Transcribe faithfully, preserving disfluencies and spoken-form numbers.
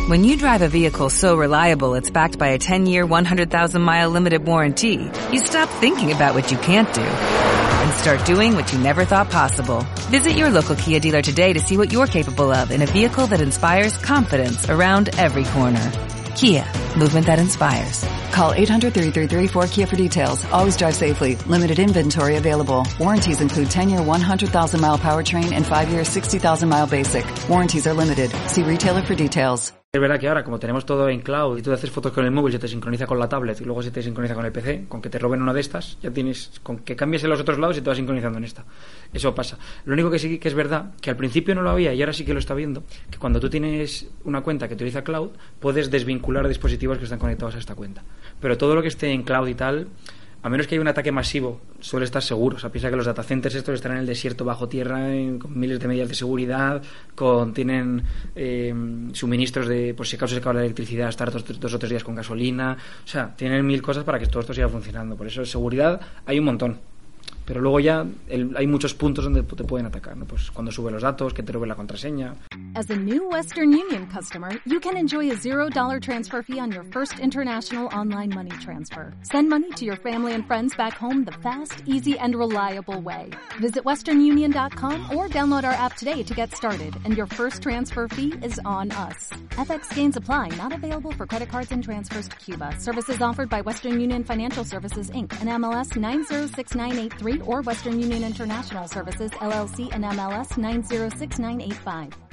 When you drive a vehicle so reliable it's backed by a ten-year, one hundred thousand mile limited warranty, you stop thinking about what you can't do and start doing what you never thought possible. Visit your local Kia dealer today to see what you're capable of in a vehicle that inspires confidence around every corner. Kia, movement that inspires. Call eight hundred, three three three, four K I A for details. Always drive safely. Limited inventory available. Warranties include ten-year, one hundred thousand mile powertrain and five-year, sixty thousand mile basic. Warranties are limited. See retailer for details. Es verdad que ahora, como tenemos todo en cloud y tú haces fotos con el móvil, se te sincroniza con la tablet y luego se te sincroniza con el P C, con que te roben una de estas, ya tienes, con que cambies en los otros lados y te vas sincronizando en esta. Eso pasa. Lo único que sí que es verdad, que al principio no lo había y ahora sí que lo está viendo, que cuando tú tienes una cuenta que utiliza cloud, puedes desvincular dispositivos que están conectados a esta cuenta. Pero todo lo que esté en cloud y tal, a menos que haya un ataque masivo, suele estar seguro. O sea, piensa que los datacenters estos están en el desierto bajo tierra, en, con miles de medidas de seguridad, con tienen eh, suministros de, por si acaso se acaba la electricidad, estar dos, dos o tres días con gasolina. O sea, tienen mil cosas para que todo esto siga funcionando. Por eso, seguridad hay un montón. Pero luego ya el, hay muchos puntos donde te pueden atacar, ¿no? Pues cuando sube los datos, que te roben la contraseña. As a new Western Union customer, you can enjoy a zero dollar transfer fee on your first international online money transfer. Send money to your family and friends back home the fast, easy, and reliable way. Visit western union dot com or download our app today to get started, and your first transfer fee is on us. F X gains apply, not available for credit cards and transfers to Cuba. Services offered by Western Union Financial Services, Incorporated, and M L S nine zero six nine eight three or Western Union International Services, L L C, and M L S nine zero six nine eight five.